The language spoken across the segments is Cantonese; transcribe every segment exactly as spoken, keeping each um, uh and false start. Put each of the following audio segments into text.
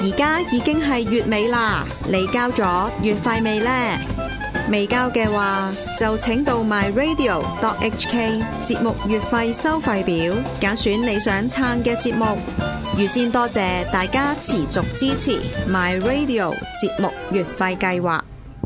而家已經係月尾啦，你交咗月費未呢？未交嘅話，就請到 my radio dot h k 節目月費收費表，揀選你想撐嘅節目。預先多謝大家持續支持 my radio 節目月費計劃。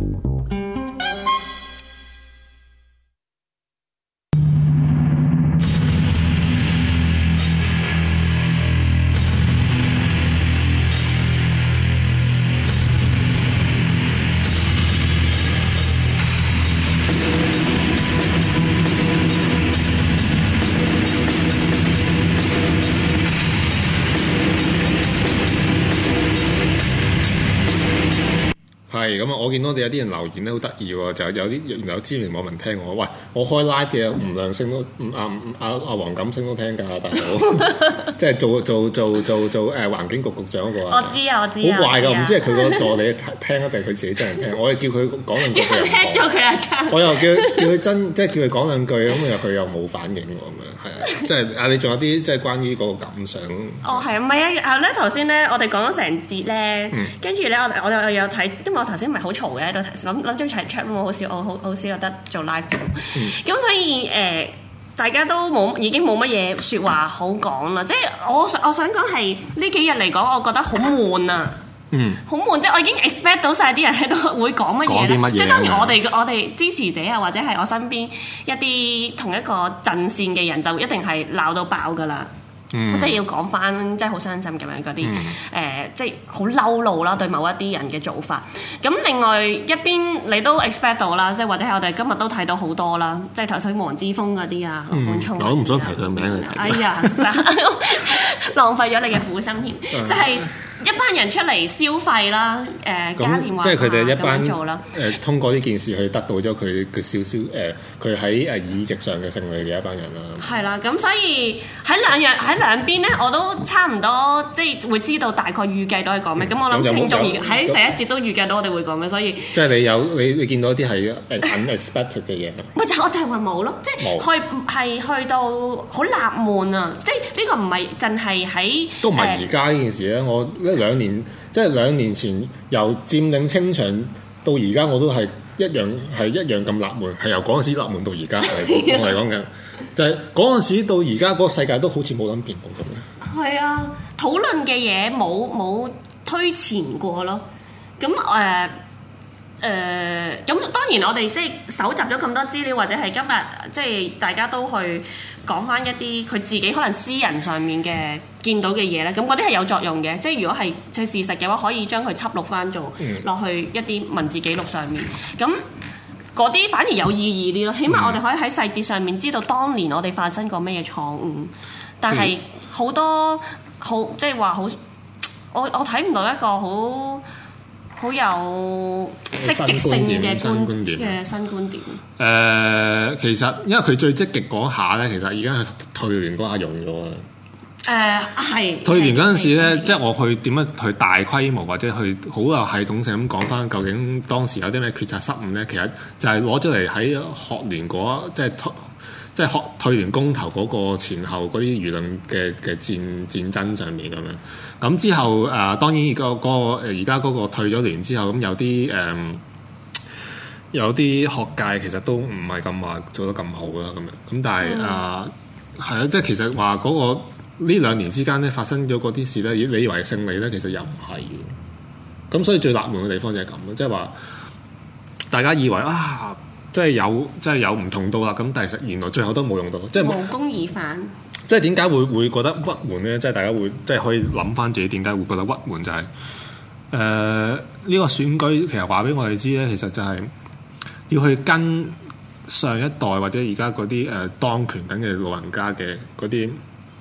係咁啊！我見到我哋有啲人留言咧，好得意喎，就有啲原來有知名網民聽我，喂，我開 live 嘅吳亮星都，阿阿阿黃錦星都聽㗎，大佬，即係做做做做做誒環境局局長嗰個啊！ 我知啊，我知啊， 好怪㗎，唔知係佢個助理聽一定係佢自己真人聽，我係叫佢講兩句，佢又聽咗佢啊， 我又叫叫佢真，即係叫佢講兩句，咁又佢又冇反應喎，咁樣係啊，即係啊！你仲有啲即係關於嗰個感想？ 哦，係啊，唔係啊，然後咧頭先咧，我哋講咗成節咧，跟住咧我我有有睇，因為我頭先唔係好嘈嘅喺度諗諗住齊 chat 我好少我好好少有得做 live 節目，咁、嗯、所以誒、呃、大家都冇已經冇乜嘢説話好講啦，即係我我想講係呢幾日嚟講，我覺得好悶啊，嗯，好悶，即係我已經 expect 到晒啲人喺度會講乜嘢咧，即係當然我哋我哋支持者啊，或者係我身邊一啲同一個陣線嘅人，就一定係鬧到爆噶啦。嗯、即係要講翻，即係好傷心咁樣嗰啲誒，即係好嬲怒啦，對某一啲人嘅做法。咁另外一邊你都 expect 到啦，即係或者係我哋今日都睇到好多啦，即係頭先黃之鋒嗰啲啊，羅冠聰，我都唔想提佢名去睇。哎呀，浪費咗你嘅苦心添，即係、嗯。一班人出嚟消費啦，誒、呃、加電話， 即係佢哋一班做啦。誒、 呃、通過呢件事去得到咗佢佢少少誒，佢喺誒議席上嘅勝利嘅一班人啦。 係啦，咁所以喺兩樣喺兩邊咧，我都差唔多即係會知道大概預計到係講咩。咁、嗯、我諗聽眾而喺第一節都預計到我哋會講咩，所以即係你有你你見到啲係 unexpected 嘅嘢。 咪就我就係話冇咯，即係去係去到好納悶啊！即係呢個唔係淨係喺都唔係而家呢件事咧，我。一兩年，即係兩年前由佔領清場到而家，我都係一樣係一樣咁納悶，係由嗰陣時納悶到而家。我係講緊，就係嗰陣時到而家嗰個世界都好似冇諗變到咁樣。 係啊，討論嘅嘢冇冇推前過咯。咁誒誒，咁、呃呃、當然我哋即係搜集咗咁多資料，或者係今日即係大家都去講翻一啲佢自己可能私人上面嘅見到嘅嘢咧，咁嗰啲係有作用嘅。即係如果係即係事實嘅話，可以將佢輯錄翻做落去一啲文字記錄上面。咁嗰啲反而有意義啲咯。起碼我哋可以喺細節上面知道當年我哋發生過咩嘢錯誤。但係好多好即係話好，我我睇唔到一個好好有積極性嘅觀嘅新觀點。誒、 呃，其實因為佢最積極嗰下咧，其實而家退聯嗰下用咗啊。 誒係退聯嗰陣時咧，即係我去點樣去大規模或者去好有系統性咁講翻，究竟當時有啲咩決策失誤咧？其實就係攞咗嚟喺學聯嗰即係退即係學退聯公投嗰個前後嗰啲輿論嘅嘅戰戰爭上面咁樣。咁之後誒、呃，當然、個個誒而家嗰個退咗聯之後，咁有啲誒、呃、有啲學界其實都唔係咁話做得咁好啦，咁樣咁但係誒係啦，即係其實話嗰、個呢兩年之間咧發生咗嗰啲事咧，你以為勝利咧，其實又唔係嘅。咁所以最納悶嘅地方就係咁咯，即係話大家以為啊，即係有即係有唔同到啦，咁但係實原來最後都冇用到，即係無功而返。 即係點解會會覺得鬱悶咧？即係大家會即係可以諗翻自己點解會覺得鬱悶，就係誒呢個選舉其實話俾我哋知咧，其實就係要去跟上一代或者而家嗰啲誒當權緊嘅老人家嘅嗰啲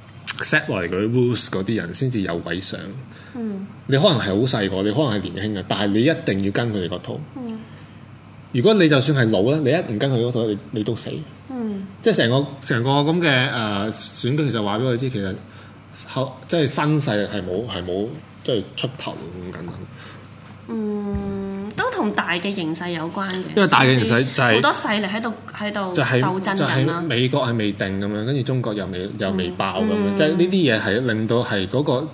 set 落嚟嗰啲 rules 嗰啲人先至有位上。嗯，你可能係好細個，你可能係年輕嘅，但係你一定要跟佢哋個套。嗯，如果你就算係老咧，你一唔跟佢嗰套，你你都死。嗯，即係成個成個咁嘅誒選舉，其實話俾我哋知，其實後即係新勢力係冇係冇即係出頭咁簡單。 嗯，都同大嘅形勢有關嘅。因為大嘅形勢就係、是、 好多勢力喺度喺度就係鬥爭緊啦。 就係美國係未定咁樣，跟住中國又未又未爆咁樣，嗯、即係呢啲嘢係令到係嗰個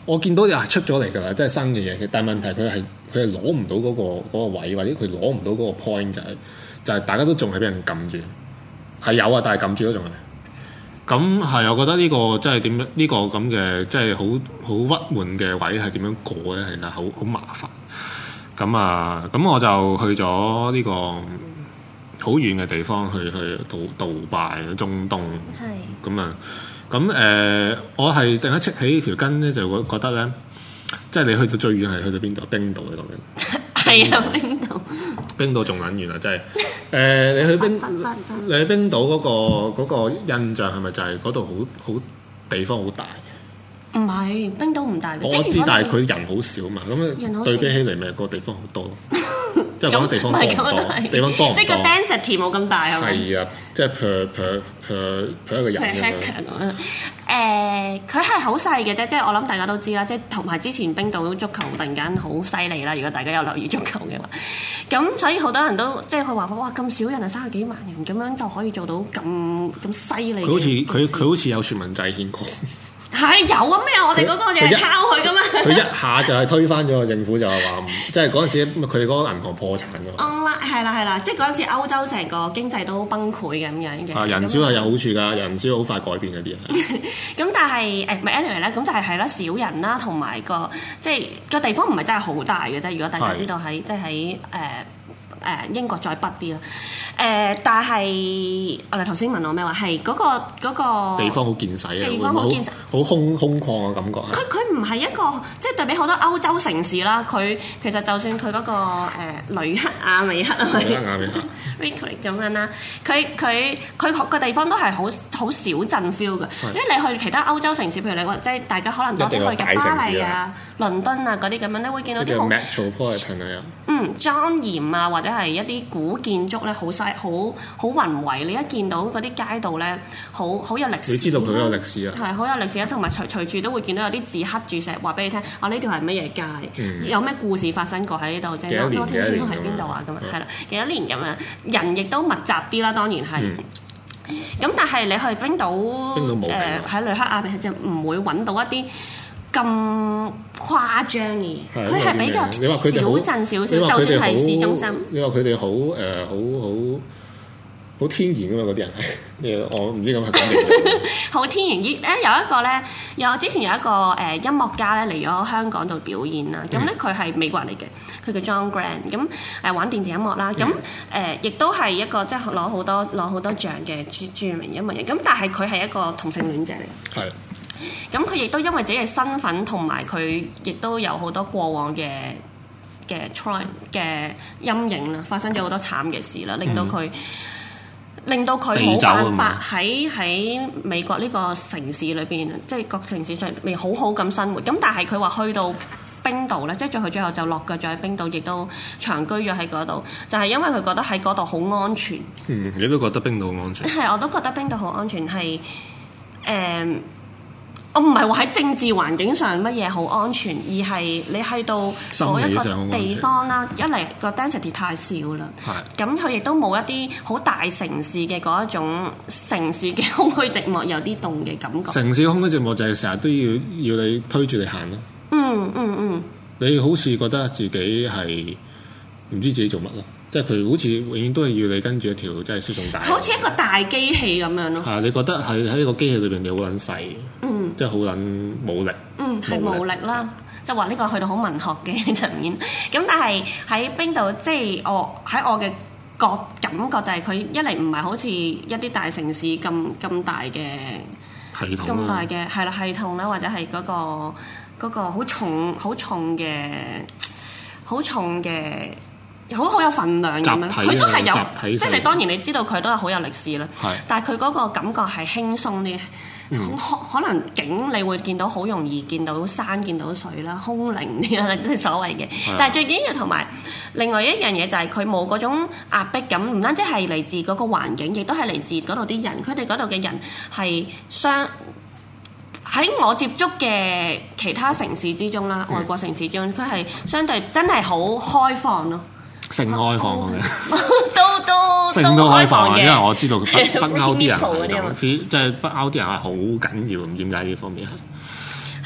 我見到又係出咗嚟㗎啦，即係新嘅嘢。但係問題佢係佢係攞唔到嗰個嗰個位，或者佢攞唔到嗰個 point 就係就係大家都仲係俾人撳住，係有啊，但係撳住都仲係。咁係，我覺得呢個即係點樣？呢個咁嘅即係好好鬱悶嘅位係點樣過咧？其實好好麻煩。咁啊，咁我就去咗呢個好遠嘅地方，去去杜杜拜中東。係。咁啊，咁誒、呃，我係突然間戚起條筋咧，就會覺得咧，即係你去到最遠係去到邊度？冰島嗰度嘅。係啊，冰島。冰島仲撚遠啊！真係。誒、呃，你去冰，你去冰島嗰、嗰個嗰個印象係咪就係嗰度好好地方好大？ 唔係，冰島唔大嘅。 我知，但係佢人好少嘛，咁對比起嚟，咪個地方好多。即係講地方多唔多？地方多唔多？ 即係個 density 冇咁大係咪？ 係啊，即係 per per per per 一個人咁樣。 誒，佢係好細嘅啫，即係我諗大家都知啦，即係同埋之前冰島足球突然間好犀利啦。如果大家有留意足球嘅話，咁所以好多人都即係佢話哇咁少人啊，三十幾萬人咁樣就可以做到咁咁犀利。佢好似佢佢好似有全民制憲過。 係有啊咩？我哋嗰個就係抄佢噶嘛。 佢一下就係推翻咗個政府，就係話，即係嗰陣時佢哋嗰個銀行破產㗎嘛。哦， 係啦係啦，即係嗰陣時歐洲成個經濟都崩潰咁樣嘅。 啊，人少係有好處㗎，人少好快改變嗰啲人。 咁但係誒，唔係 anyway 咧，咁就係係啦，少人啦，同埋個即係個地方唔係真係好大嘅啫。如果大家知道喺即係喺誒誒英國再北啲啦。誒、呃，但係我哋頭先問我咩話？係嗰、嗰個嗰、嗰個地方好見使啊， 地方好見使， 好空空曠嘅感覺。 佢佢唔係一個即係對比好多歐洲城市啦。佢其實就算佢嗰、嗰個誒雷克雅未克啊，雷克雅未克咁樣啦，佢佢佢個地方都係好好小鎮 feel 嘅。因為你去其他歐洲城市，譬如你話即係大家可能多啲去嘅巴黎啊、倫敦啊嗰啲咁樣咧，會見到啲好 metropolitan 啊， 嗯莊嚴啊，或者係一啲古建築咧，好細。好好宏偉，你一見到嗰啲街道咧，好好有歷史。 你知道佢好有歷史啊？係好有歷史啊，同埋隨隨處都會見到有啲字刻住石，話俾你聽，啊呢條係乜嘢街，嗯、有咩故事發生過喺呢度，即係多天天喺邊度啊咁啊，係啦，幾多年咁樣，人亦都密集啲啦，當然係。咁、嗯、但係你去冰島， 冰島冇誒喺雷克雅未克就唔會揾到一啲咁誇張嘅，佢係比較小鎮少少，就算係市中心。 你話佢哋好誒，好好好天然㗎嘛？嗰啲人係，我唔知咁係講咩。 好天然啲咧，有一個咧，有之前有一個誒音樂家咧嚟咗香港度表演啦。咁咧佢係美國人嚟嘅，佢叫 John Grant。咁誒玩電子音樂啦，咁誒亦都係一個即係攞好多攞好多獎嘅著著名音樂人。咁但係佢係一個同性戀者嚟。係。咁佢亦都因為自己嘅身份同埋佢亦都有好多過往嘅嘅 trauma 嘅陰影啦，發生咗好多慘嘅事啦，令到佢、嗯、令到佢冇辦法喺喺美國呢個城市裏邊，即係各城市上未好好咁生活。咁但係佢話去到冰島咧，即係最後最後就落腳咗喺冰島，亦都長居咗喺嗰度，就係、是、因為佢覺得喺嗰度好安全。 嗯，你都覺得冰島好安全？ 係，我都覺得冰島好安全，係誒。嗯我唔係話喺政治環境上乜嘢好安全，而係你去到嗰一個地方啦，一嚟個 density 太少啦，咁佢亦都冇一啲好大城市嘅嗰一種城市嘅空虛寂寞，有啲凍嘅感覺。城市空虛寂寞就係成日都要要你推住你行咯。嗯嗯嗯。你好似覺得自己係唔知自己做乜咯？即係佢好似永遠都係要你跟住一條即係輸送帶，好似一個大機器咁樣咯。係，你覺得係喺呢個機器裏邊你好撚細，嗯，即係好撚冇力，嗯，係冇力啦。即係話呢個去到好文學嘅層面。咁但係喺冰島，即係我喺我嘅覺感覺就係佢一嚟唔係好似一啲大城市咁咁大嘅系統，咁大嘅係啦系統啦，或者係嗰個嗰個好重好重嘅好重嘅。好好有份量咁樣，佢都係有，即係你當然你知道佢都係好有歷史啦。但係佢嗰個感覺係輕鬆啲，嗯、可能景你會見到好容易見到山、見到水啦，空靈啲啦，即係所謂嘅。但係最緊要同埋另外一樣嘢就係佢冇嗰種壓迫感，唔單止係嚟自嗰個環境，亦都係嚟自嗰度啲人。佢哋嗰度嘅人係相喺我接觸嘅其他城市之中啦，外國城市之中，佢係相對真係好開放咯。性開放嘅，都都性都開放嘅，因為我知道北北歐啲人係咁，即係北歐啲人係好緊要，唔知點解呢方面係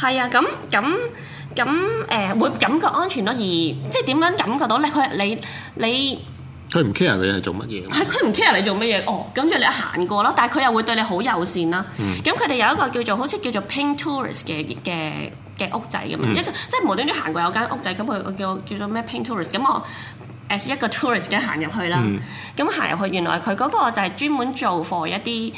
係啊，咁咁咁誒會感覺安全咯，而即係點樣感覺到咧？佢你你佢唔 care 你係做乜嘢？ 係佢唔 care 你做乜嘢哦，咁就你行過咯，但係佢又會對你好友善啦。咁佢哋有一個叫做好似叫做 Pink Tourist 嘅嘅嘅屋仔咁樣，嗯、一個即係無端端行過有間屋仔，咁佢叫叫做咩 Pink Tourist，咁我誒一個 tourist 嘅行入去啦。咁行入去原來佢嗰個就係專門做 for 一啲誒誒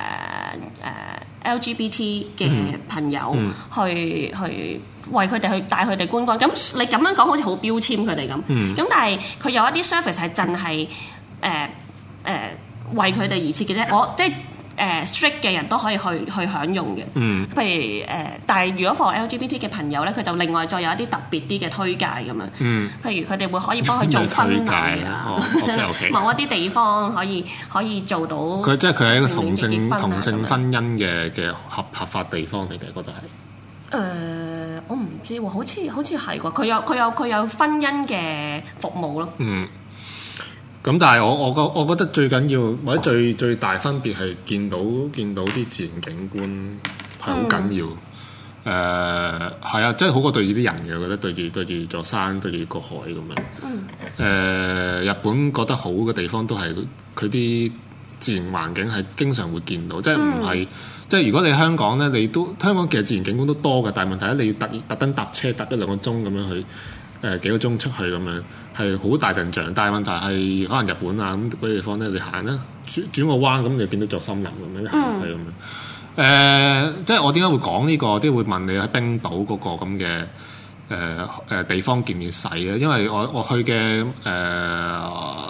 L G B T 嘅朋友、嗯嗯、去去。為佢哋去帶佢哋觀光，咁你咁樣講好似好標籤佢哋咁，咁、嗯、但係佢有一啲 service 係真係誒誒為佢哋而設嘅啫，我即係誒、呃、strict 嘅人都可以去去享用嘅，嗯、譬如誒、呃，但係如果 for L G B T 嘅朋友咧，佢就另外再有一啲特別啲嘅推介咁樣，嗯、譬如佢哋會可以幫佢做婚禮啊， 哦 okay, okay. 某一啲地方可以可以做到， 佢即係佢係一個同性同性婚姻嘅嘅合合法地方嚟嘅，覺得係。 誒、呃，我唔知喎，好似好似係喎，佢有佢有佢有婚姻嘅服務咯。嗯， 咁但係我我覺我覺得最緊要或者最最大分別係見到見到啲自然景觀係好緊要。誒、嗯，係、呃、啊，即係好過對住啲人嘅，我覺得對住對住座山對住個海咁樣。嗯。誒、呃，日本覺得好嘅地方都係佢啲自然環境係經常會見到，即係唔係。嗯即係如果你香港咧，你都香港其實自然景觀都多嘅，但係問題咧，你要特特登搭車搭一兩個鐘咁樣去，誒、呃、幾個鐘出去咁樣，係好大陣仗。但係問題係可能日本啊咁嗰啲地方咧，你行啦，轉轉個彎咁，你見到座森林咁樣行去咁樣。誒、嗯呃，即係我點解會講呢、這個？即係會問你喺冰島嗰個咁嘅誒誒地方見唔見使咧？因為我我去嘅誒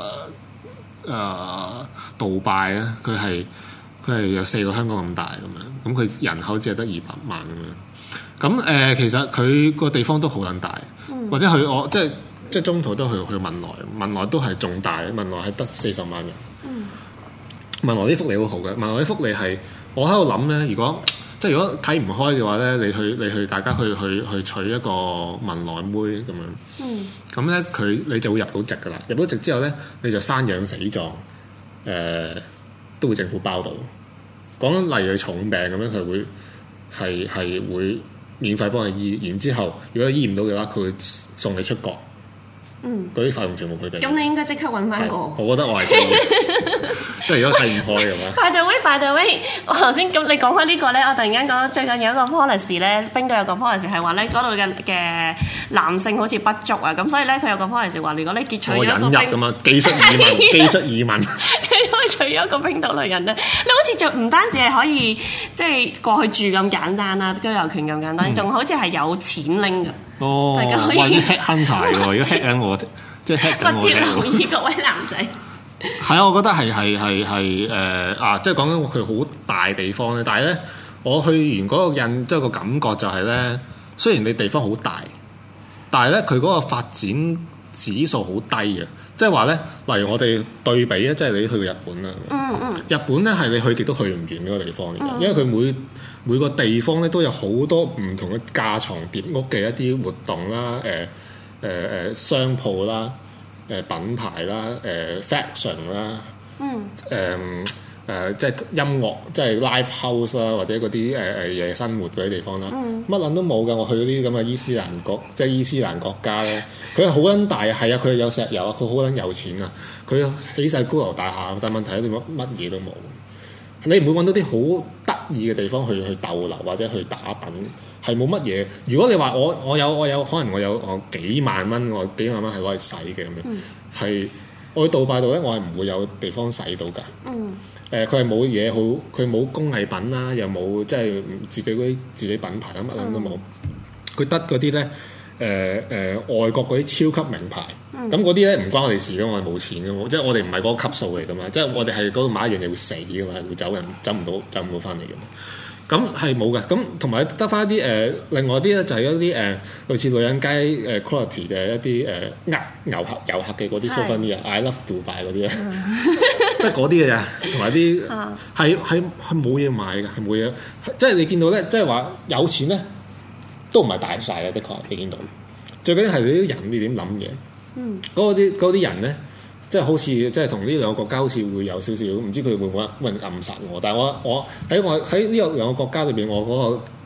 誒杜拜咧，佢係。佢係有四個香港咁大咁樣，咁佢人口只係得二百萬咁樣。咁誒、呃，其實佢個地方都好撚大，嗯、或者去我即係即係中途都去去文萊，文萊都係仲大，文萊係得四十萬人。嗯、文萊啲福利好好嘅，文萊啲福利係我喺度諗咧，如果即係如果睇唔開嘅話咧，你去你去大家去去去娶一個文萊妹咁樣。咁咧佢你就會入到籍㗎啦，入到籍之後咧你就生養死葬誒。呃都會政府包到，講例如佢重病咁樣，佢會係係會免費幫你醫，然之後如果醫唔到嘅話，佢會送你出國。嗯，嗰啲費用全部佢哋。咁你應該即刻揾翻個。我覺得我係即係如果睇唔開嘅話。By the way, by the way，我頭先咁你講開呢個咧，我突然間講最近有一個 policy 咧，冰島有個 policy 係話咧嗰度嘅嘅男性好似不足啊，咁所以咧佢有個 policy 話，如果你結娶咗一個冰，我引入咁啊，技術移民，技術移民，佢可以娶咗一個冰島女人咧，你好似就唔單止係可以即係過去住咁簡單啦，居留權咁簡單，仲、嗯、好似係有錢拎㗎。哦，大家可以 hack hunter 喎，而家 hack 緊我，即係 hack 緊我。密切留意各位男仔。係啊，我覺得係係係係誒啊！即係講緊佢好大地方咧，但係咧，我去完嗰個印，即係個感覺就係咧，雖然你地方好大，但係咧佢嗰個發展指數好低嘅，即係話咧，例如我哋對比咧，即係你去過日本啦，嗯嗯，日本咧係你去極都去唔完嗰個地方嚟嘅，因為佢每每個地方咧都有好多唔同嘅架床疊屋嘅一啲活動啦，誒誒誒商鋪啦。誒品牌啦，誒、呃、fashion 啦，嗯，誒誒、呃、即係音樂，即係 live house 啦，或者嗰啲誒誒夜生活嗰啲地方啦，乜撚、嗯、都冇㗎。我去嗰啲咁嘅伊斯蘭國，即係伊斯蘭國家咧，佢係好撚大啊，係啊，佢有石油啊，佢好撚有錢啊，佢起晒高樓大廈，但係問題咧，乜乜嘢都冇。你唔會揾到啲好得意嘅地方去去逗留或者去打躉，係冇乜嘢。如果你話我我有我有可能我有我幾萬蚊，我幾萬蚊係攞嚟使嘅咁樣，係、嗯、我去杜拜度咧，我係唔會有地方使到㗎。嗯，誒佢係冇嘢好，佢冇工藝品啦，又冇即係自己嗰啲自己品牌咁乜撚都冇。佢得嗰啲咧。誒誒、呃呃、外國嗰啲超級名牌，咁嗰啲咧唔關我哋事嘅，我係冇錢嘅，即係我哋唔係嗰個級數嚟嘅嘛，即係我哋係嗰度買一樣嘢會死嘅嘛，係會走人走唔到走唔到翻嚟嘅嘛，咁係冇嘅，咁同埋得翻一啲誒，另外啲咧就係一啲誒、呃、類似女人街誒 quality 嘅一啲誒呃遊客遊客嘅嗰啲 souvenir 啊 I love Dubai 嗰啲咧，得嗰啲嘅咋，同埋啲係係係冇嘢買嘅，係冇嘢，即係你見到咧，即係話有錢咧。都唔係大晒嘅，的確你見到。最緊要係你啲人你點諗嘢。嗯。嗰啲嗰啲人咧，即係好似即係同呢兩個國家好似會有少少，唔知佢會唔會會暗殺我。但係我我喺我喺呢個兩個國家裏邊，我嗰個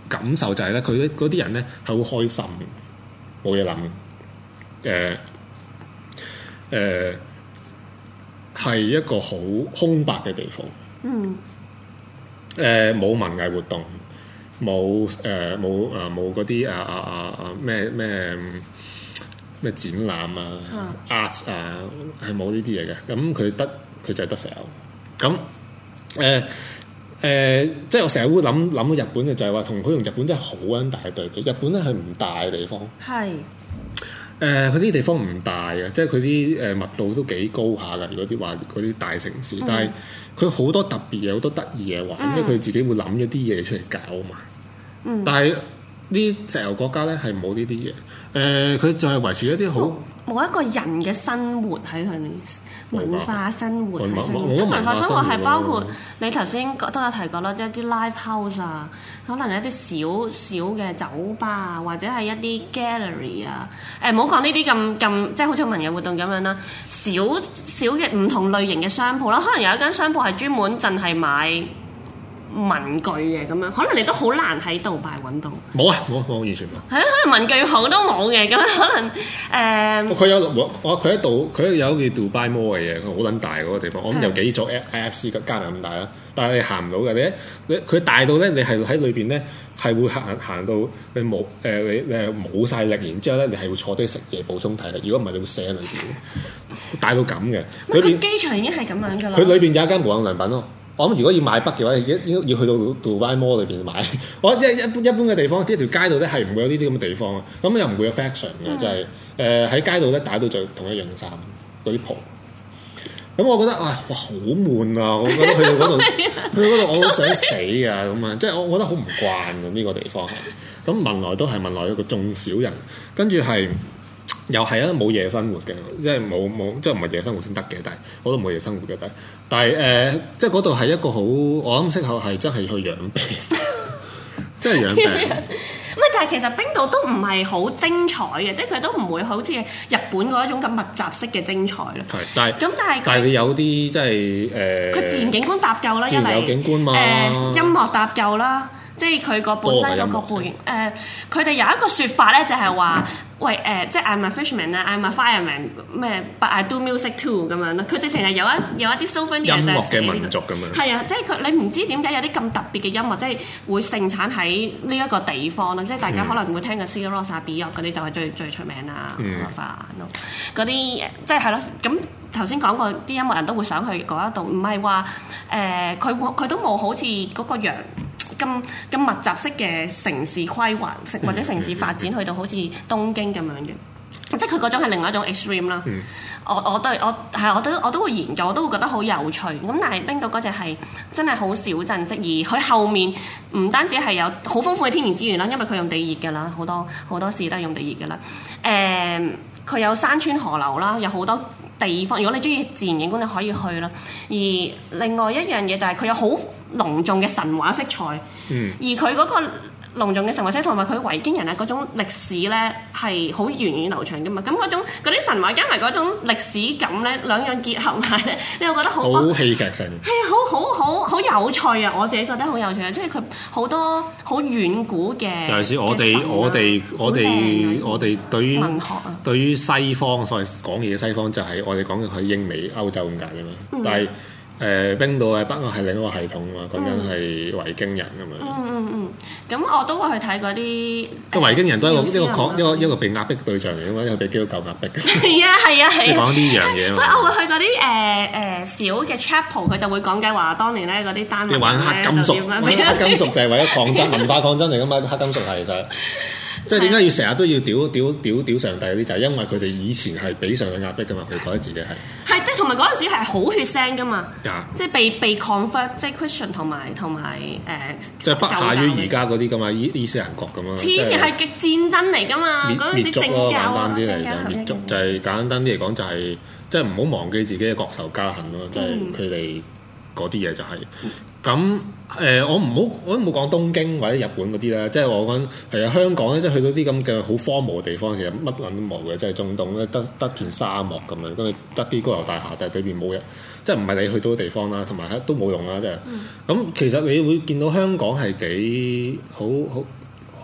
感受就係咧，佢嗰啲人咧係好開心，冇嘢諗，誒誒係一個好空白嘅地方。 嗯。 誒冇、呃、文藝活動，冇誒冇誒冇嗰啲啊啊啊啊咩咩咩展覽啊、嗯、art 啊，係冇呢啲嘢嘅。咁佢得佢就係得石油。咁誒誒，即係我成日會諗諗到日本嘅就係話，同佢同日本真係好撚大嘅對比。日本咧係唔大嘅地方，係誒佢啲地方唔大嘅，即係佢啲誒密度都幾高下㗎。如果啲話嗰啲大城市，嗯、但係佢好多特別嘢，好多得意嘢玩，嗯、即係佢自己會諗咗啲嘢出嚟搞啊嘛。嗯、但係呢石油國家咧係冇呢啲嘢，誒、呃、佢就係維持一啲好冇一個人嘅生活喺佢哋文化生活喺上面。 即文化生活係包括你頭先都有提過啦，即係啲 live house 啊，可能一啲小小嘅酒吧啊，或者係一啲 gallery 啊。誒唔好講呢啲咁咁，即係好似文藝活動咁樣啦。小小嘅唔同類型嘅商鋪啦，可能有一間商鋪係專門淨係買文具嘅咁樣，可能你都好難喺杜拜揾到。冇啊，冇冇完全冇。係啊，可能文具鋪都冇嘅，咁可能誒。佢、呃、有我佢喺度，佢有叫杜拜 Mall 嘅嘢，佢好撚大嗰個地方。我諗有幾座 I F C 加埋咁大啦，但係你行唔到嘅。你你佢大到咧，你係喺裏邊咧係會行行到你冇誒、呃、你你係冇曬力，然之後咧你係會坐低食嘢補充體力。如果唔係，你會死喺裏邊。大到咁嘅。 佢邊機場已經係咁樣㗎啦。 佢裏邊有一間無印良品咯。我諗如果要買筆嘅話，要要要去到杜拜 Mall 裏邊買。我一一般一般嘅地方，呢條街度咧係唔會有呢啲咁嘅地方啊。咁又唔會有 fashion 嘅，嗯、就係誒喺街度咧打到就同一樣衫嗰啲鋪。咁我覺得啊，哇好悶啊！我覺得去到嗰度，去到嗰度我好想死啊！咁啊，即係我我覺得好唔慣啊呢、呢個地方係。咁文萊都係文萊一個眾少人，跟住係。又係啊，冇夜生活嘅，即係冇冇，即係唔係夜生活先得嘅，但係我都冇夜生活嘅，但係但係誒、呃，即係嗰度係一個好，我諗適合係真係去養病，真係養病。 唔係，但係其實冰島都唔係好精彩嘅，即係佢都唔會好似日本嗰一種咁密集式嘅精彩咯。係，但係咁但係但係你有啲即係誒，佢、 呃、自然景觀搭夠啦，一嚟有景觀嘛，誒、 呃、音樂搭夠啦。即係佢個本身嗰個背景，誒佢哋有一個説法咧，就係話，喂誒、呃，即係 I'm a fisherman 啊，I'm a fireman 咩，but I do music too 咁樣咯。佢直情係有一有一啲 souvenir 音樂嘅民族咁樣。 係啊，即係佢你唔知點解有啲咁特別嘅音樂，即係會盛產喺呢一個地方啦。即係大家可能會聽嘅 Sigur Rós 啊、Björk 嗰啲就係最最出名啦，花眼咯。嗰啲即係係咯，咁頭先講過啲音樂人都會想去嗰一度，唔係話誒佢佢都冇好似嗰個羊。咁咁密集式嘅城市規劃，或者城市發展去到好似東京咁樣嘅，即係佢嗰種係另外一種 extreme 啦、嗯。我我都我係我都我都會研究，我都會覺得好有趣。咁但係冰島嗰隻係真係好小鎮式，而佢後面唔單止係有好豐富嘅天然資源啦，因為佢用地熱㗎啦，好多好多時都係用地熱㗎啦。誒、呃，佢有山川河流啦，有好多地方。如果你中意自然景觀，你可以去啦。而另外一樣嘢就係佢有好隆重嘅神話色彩，嗯、而佢嗰個隆重嘅神話色彩同埋佢維京人啊嗰種歷史咧係好源遠流長噶嘛，咁嗰種嗰啲神話加埋嗰種歷史感咧，兩樣結合埋咧，你又覺得好好戲劇性， 係啊，好好好好有趣啊！我自己覺得好有趣啊，即係佢好多好遠古嘅， 尤其是我哋我哋我哋我哋對於文學啊， 對於西方所謂講嘢嘅西方就係我哋講嘅係英美歐洲咁解嘅嘛，嗯、但係。誒、呃、冰島係北歐係另一個系統啊嘛，講緊係維京人咁樣。嗯嗯嗯，咁、嗯、我都會去睇嗰啲。個維京人都係一個一個抗一個一個被壓迫對象嚟嘅嘛，因為被基督教壓迫。係啊係啊係啊！即係講呢樣嘢。所以我會去嗰啲誒誒小嘅 chapel，佢就會講解話當年咧嗰啲單位咧。玩黑金屬，玩黑金屬就係為咗抗爭，文化抗爭嚟噶嘛，黑金屬係其實。即係點解要成日都要屌屌屌屌上帝嗰啲？就係、是、因為佢哋以前係俾上帝壓迫噶嘛，佢覺得自己係係即係同埋嗰陣時係好血腥噶嘛，啊、即係被被 convert 即係 Christian 同埋同埋誒，即係不下於而家嗰啲噶嘛，伊伊斯蘭國咁啊！以前係極戰爭嚟噶嘛，嗰陣時政教簡單啲嚟講，滅族就係簡單啲嚟講就係即係唔好忘記自己嘅國仇家恨咯，即係佢哋嗰啲嘢就係、是。咁誒、呃，我唔好，我都冇講東京或者日本嗰啲啦，即係我講係啊，香港咧，即係去到啲咁嘅好荒蕪嘅地方，其實乜撚都冇嘅，即係中東咧，得得片沙漠咁樣，跟住得啲高樓大廈，但係裏邊冇人，即係唔係你去到嘅地方啦，同埋都冇用啦，即係。咁、嗯、其實你會見到香港係幾好好，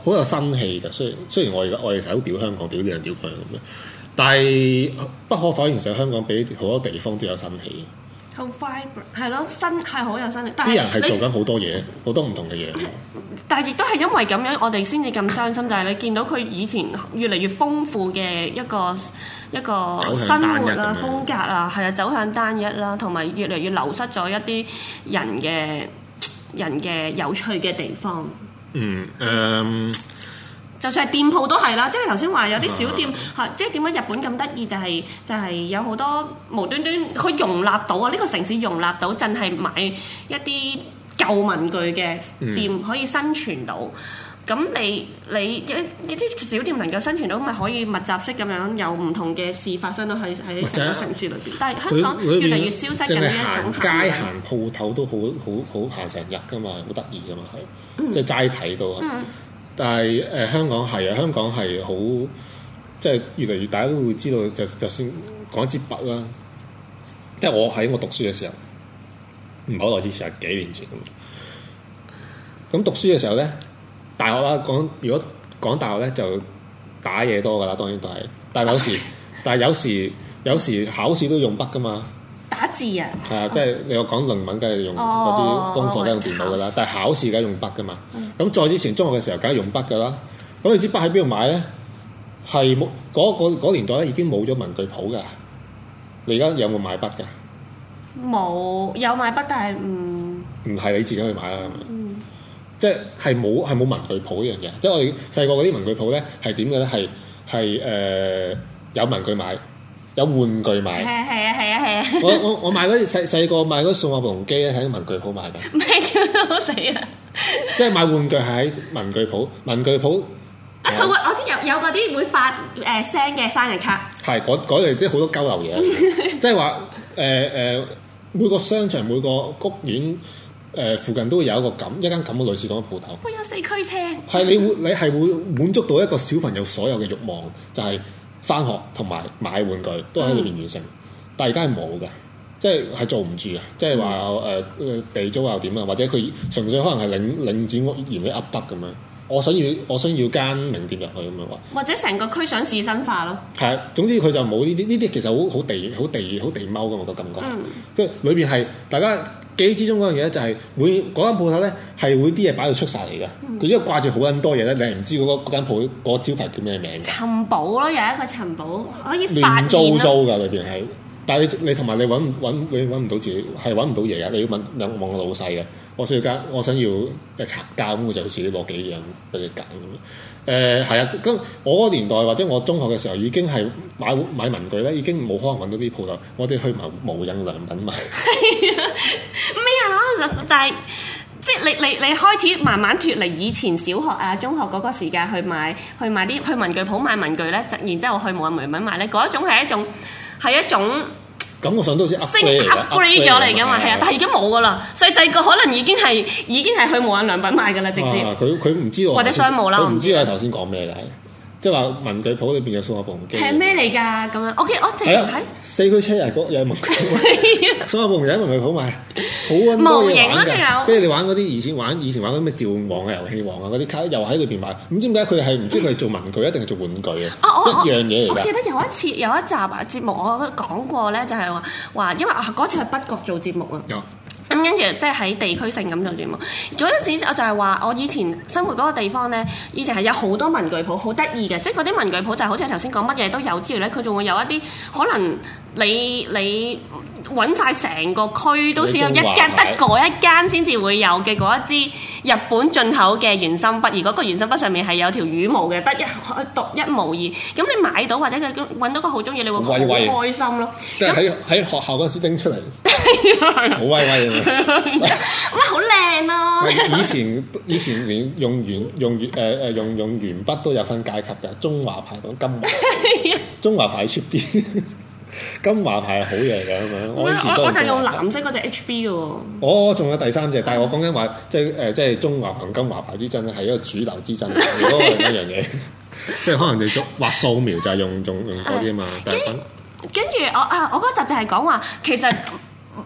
好有新氣嘅。雖然雖然我而家我哋成日都屌香港，屌呢樣屌佢咁樣，但係不可否認，其實香港比好多地方都有新氣。 好 vibrant 係咯，新係好有新氣。 啲人係做緊好多嘢，好多唔同嘅嘢。 但係亦都係因為咁樣，我哋先至咁傷心。就係你見到佢以前越嚟越豐富嘅一個一個生活啦、風格啊，係啊，走向單一啦，同埋越嚟越流失咗一啲人嘅人嘅有趣嘅地方。 嗯誒。Um, 就算係店鋪都係啦，即係頭先話有啲小店，係即係點解日本咁得意？就係、是、就係、是、有好多無端端佢容納到啊！呢、這個城市容納到，淨係買一啲舊文具嘅店可以生存到。咁、嗯、你你一一啲小店能夠生存到，咪可以密集式咁樣有唔同嘅事發生到喺喺成個城市裏邊。但係香港越嚟越消失緊呢一種街行鋪頭都好好好行成日㗎嘛，好得意㗎嘛係，嗯、即係齋睇到。嗯但係誒、呃、香港係啊，香港係好即係越嚟越大家都會知道，就就算講支筆啦，即係我喺我讀書嘅時候，唔係好耐之前，係幾年前咁。咁讀書嘅時候咧，大學啦講，如果講大學咧就打嘢多㗎啦，當然都係。但係有時，但係有時有時考試都用筆㗎嘛。 打字啊！ 係啊，即係你我講論文，梗係用嗰啲功課都用電腦噶啦。但係考試梗係用筆噶嘛。咁再之前中學嘅時候，梗係用筆噶啦。咁你支筆喺邊度買咧？係冇嗰嗰年代咧，已經冇咗文具鋪噶。你而家有冇買筆㗎？ 冇，有買筆，但係唔唔係你自己去買啦。嗯、即係係冇係冇文具鋪呢樣嘢。即係我哋細個嗰啲文具鋪咧係點嘅咧？係係誒有文具買。有玩具買， 係啊係啊係啊係啊！ 我我我買嗰啲細細個買嗰啲數碼暴龍機咧，喺文具鋪買㗎。 咩叫好死啊！ 即係買玩具係喺文具鋪，文具鋪啊佢會我知有有嗰啲會發誒聲嘅生日卡。 係嗰嗰類即係好多交流嘢，即係話誒誒每個商場每個屋苑誒、呃、附近都會有一個咁一間咁嘅類似咁嘅鋪頭。 會有四驅車。係你會你係會滿足到一個小朋友所有嘅慾望，就係、是。返學同埋買玩具都喺裏邊完成，嗯、但係而家係冇嘅，即係係做唔住嘅，即係話誒地租又點啊，或者佢純粹可能係領領展屋嫌你噏得咁樣，我想要我想要間名店入去咁樣話， 或者成個區想仕紳化咯。係啊， 總之佢就冇呢啲呢啲，其實好好地好地好地踎嘅我個感覺，即係裏邊係大家記憶之中嗰樣嘢咧，就係會嗰間鋪頭咧係會啲嘢擺到出晒嚟嘅。佢因為掛住好撚多嘢咧，你係唔知嗰、嗰個、間鋪嗰個招牌叫咩名？尋寶咯，有一個尋寶可以發現亂糟糟㗎裏邊係，但係你你同埋你揾揾你揾唔到自己係揾唔到嘢㗎，你要問兩望個老細嘅。我需要間，我想要誒拆膠咁，我就自己攞幾樣俾你揀咁樣。誒係啊，咁我嗰年代或者我中學嘅時候已經係買買文具咧，已經冇可能揾到啲鋪頭，我哋去買無印良品買。 係啊，咩啊？但係即係你你你開始慢慢脫離以前小學啊、中學嗰個時間去買去買啲去文具鋪買文具咧，然之後去無印良品買咧，嗰一種係一種係一種。感覺上都好似 upgrade 咗嚟㗎嘛，係啊，但係已經冇㗎啦。細細個可能已經係已經係去無印良品買㗎啦，直接。 佢佢唔知我或者商務啦， 佢唔知我頭先講咩嘅，即係話文具鋪裏邊有數碼暴龍機。 係咩嚟㗎？咁樣 OK，我直情睇四驅車又係有文具鋪，數碼暴龍又喺文具鋪買，好撚多嘢玩㗎。跟住你玩嗰啲以前玩以前玩嗰啲咩召喚王啊、遊戲王啊嗰啲卡，又喺裏邊買。唔知點解佢係唔知佢係做文具一定係做玩具啊？一樣嘢嚟㗎。 我記得有一次有一集啊節目我都講過咧，就係話話因為嗰次係北角做節目啊。咁跟住即係喺地區性咁做節目。嗰陣時我就係話，我以前生活嗰個地方咧，以前係有好多文具鋪，好得意嘅。即係嗰啲文具鋪就係好似頭先講乜嘢都有之餘咧，佢仲會有一啲可能你你揾曬成個區都只有一間得嗰一間先至會有嘅嗰一支日本進口嘅原心筆，而嗰個原心筆上面係有條羽毛嘅，得一獨一無二。咁你買到或者佢揾到個好中意，你會好開心咯。 即係喺喺學校嗰陣時拎出嚟，好威威啊！ 哇，好靚咯！ 以前以前連用鉛用鉛誒誒用用鉛筆都有分階級嘅，中華牌同金華，中華牌 cheap 啲。金華牌係好嘢嚟㗎咁樣，我以前都我就用藍色嗰隻 H B 嘅喎。 我仲有第三隻，但係我講緊話，即係誒，即係中華同金華牌之爭係一個主流之爭，如果係一樣嘢，即係可能你做畫素描就係用用用嗰啲啊嘛。但係跟住我啊，我嗰集就係講話，其實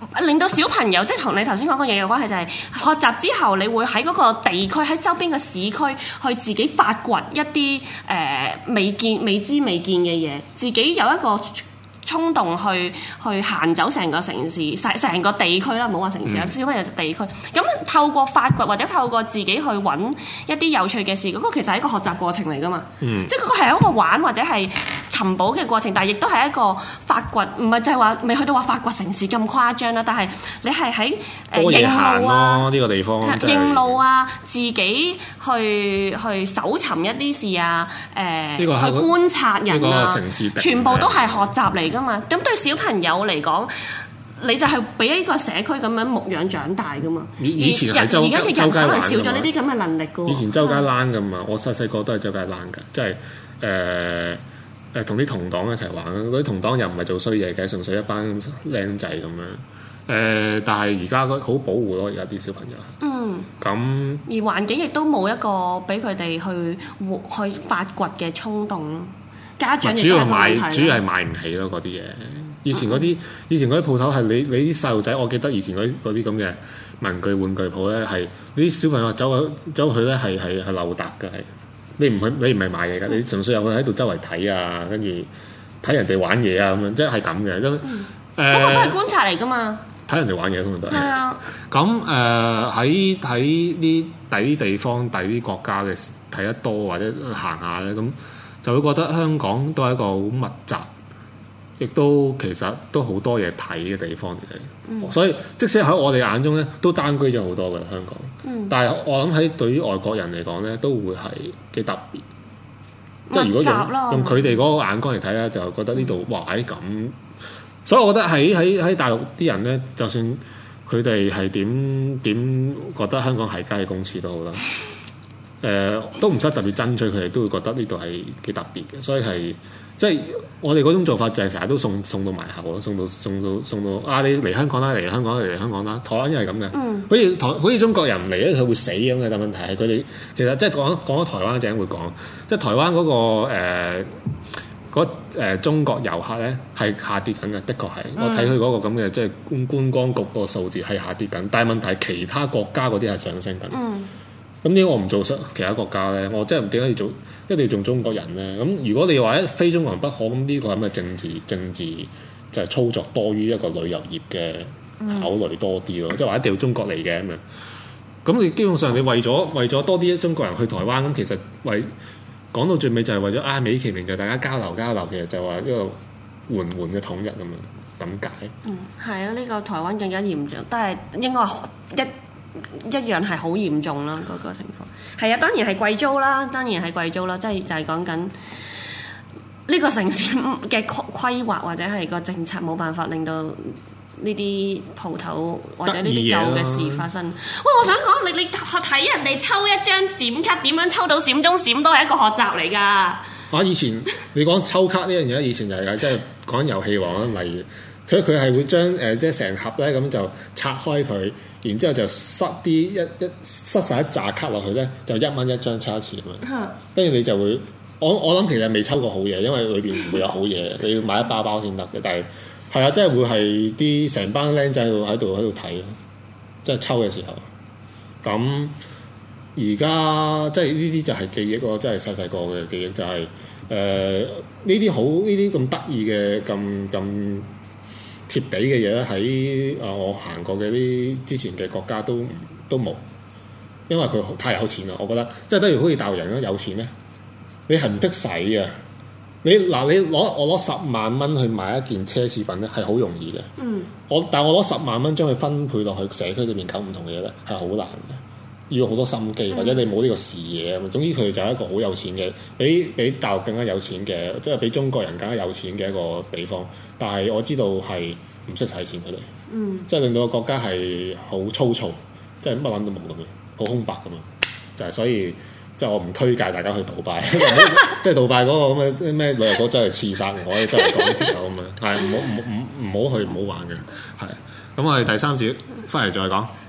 令到小朋友即係同你頭先講嘅嘢有關係，就係學習之後，你會喺嗰個地區喺周邊嘅市區去自己發掘一啲誒、呃、未見未知未見嘅嘢，自己有一個衝動去去行走成個城市，成成個地區啦，唔好話城市，有小朋友就地區。咁透過發掘或者透過自己去揾一啲有趣嘅事，嗰、那個其實係一個學習過程嚟噶嘛。嗯、即係嗰個係一個玩或者係尋寶嘅過程，但係亦都係一個發掘，唔係就係話未去到話發掘城市咁誇張啦。但係你係喺誒認路啊，呢、 這個地方認路啊，自己去去搜尋一啲事啊，誒、呃、去觀察人啊，城市全部都係學習嚟噶。咁對小朋友嚟講，你就係俾一個社區咁樣牧養長大噶嘛。 以前係周而家嘅人可能少咗呢啲咁嘅能力噶。 以前周街躝噶嘛，我細細個都係周街躝噶，即係誒誒同啲同黨一齊玩。嗰啲同黨又唔係做衰嘢嘅，純粹一班僆仔咁樣。誒、呃，但係而家好保護咯，而家啲小朋友。嗯。咁而環境亦都冇一個俾佢哋去去發掘嘅衝動咯。家長主要買，主要係買唔起咯嗰啲嘢。以前嗰啲，以前嗰啲鋪頭係你你啲細路仔，我記得以前嗰啲啲咁嘅文具玩具鋪咧，係你啲小朋友走去走去咧係係係溜達嘅，係你唔去你唔係買嘢㗎，你純粹入去喺度周圍睇啊，跟住睇人哋玩嘢啊咁樣，即係咁嘅。咁誒， 不過都係觀察嚟㗎嘛。 睇人哋玩嘢通常都係。 係啊。 咁誒喺喺啲第啲地方、第啲國家嘅睇得多或者行下咧咁。就會覺得香港都係一個好密集，亦都其實都好多嘢睇嘅地方嚟嘅。嗯、所以即使喺我哋眼中咧，都單居咗好多嘅香港。嗯、但係我諗喺對於外國人嚟講咧，都會係幾特別。即係如果用用佢哋嗰個眼光嚟睇咧，就覺得呢度哇喺咁。所以我覺得喺喺喺大陸啲人咧，就算佢哋係點點覺得香港係街公廁都好啦。誒、呃、都唔使特別爭取，佢哋都會覺得呢度係幾特別嘅，所以係即係我哋嗰種做法就係成日都送送到埋口咯，送到送到送到啊！你嚟香港啦，嚟香港嚟香港啦，台灣又係咁嘅，嗯、好似台好似中國人嚟咧，佢會死咁嘅。但問題係佢哋其實即係講講咗台灣陣會講，即係台灣嗰、嗰個誒嗰、呃呃、中國遊客咧係下跌緊嘅，的確係、嗯、我睇佢嗰個咁嘅即係觀觀光局個數字係下跌緊，但係問題係其他國家嗰啲係上升緊。嗯咁點解我唔做其他國家咧？我真係點解要做一定要做中國人咧？咁如果你話一非中國人不可，咁呢個係咪政治政治就係操作多於一個旅遊業嘅考慮多啲咯？即係話一定要中國嚟嘅咁樣。咁你基本上你為咗為咗多啲中國人去台灣，咁其實為講到最尾就係為咗啊美其名就大家交流交流，其實就話一個緩緩嘅統一咁樣咁解。嗯，係啊，呢、呢個台灣更加嚴重，但係應該一。一樣係好嚴重啦，嗰、那個情況係啊，當然係貴租啦，當然係貴租啦，即係就係講緊呢個城市嘅規劃或者係個政策冇辦法令到呢啲鋪頭或者呢啲舊嘅事發生。喂，我想講你你睇人哋抽一張閃卡點樣抽到閃中閃都係一個學習嚟㗎。 啊，以前你講抽卡呢樣嘢，以前就係、是、即係講遊戲王啦，例如所以佢係會將誒、呃、即係成盒咧咁就拆開佢。然之後就塞啲一一塞晒一紮卡落去咧，就一蚊一張抽一次咁樣。跟住你就會，我我諗其實未抽過好嘢，因為裏邊唔會有好嘢，你要買一包包先得嘅。但係係啊，即係會係啲成班僆仔喺度喺度喺度睇，即係抽嘅時候。咁而家即係呢啲就係記憶咯，即係細細個嘅記憶就係誒呢啲好呢啲咁得意嘅咁咁。貼地嘅嘢咧喺啊我行過嘅啲之前嘅國家都都冇，因為佢太有錢啦。我覺得即係等於好似大陸人咁有錢咧，你係唔識使嘅。你嗱你攞我攞十萬蚊去買一件奢侈品咧係好容易嘅。嗯。我但係我攞十萬蚊將佢分配落去社區裏面搞唔同嘅嘢咧係好難嘅，要好多心機或者你冇呢個視野啊嘛。總之佢就係一個好有錢嘅，比比大陸更加有錢嘅，即係比中國人更加有錢嘅一個地方。但係我知道係唔識使錢佢哋，嗯、即係令到個國家係好粗糙，即係乜撚都冇咁樣，好空白咁樣。就係、是、所以，即係我唔推介大家去杜拜，即係杜拜嗰個咁嘅咩旅遊局真係刺殺我，真係講條狗咁樣，係唔好唔唔唔好去唔好玩嘅，係。咁我哋第三節翻嚟再講。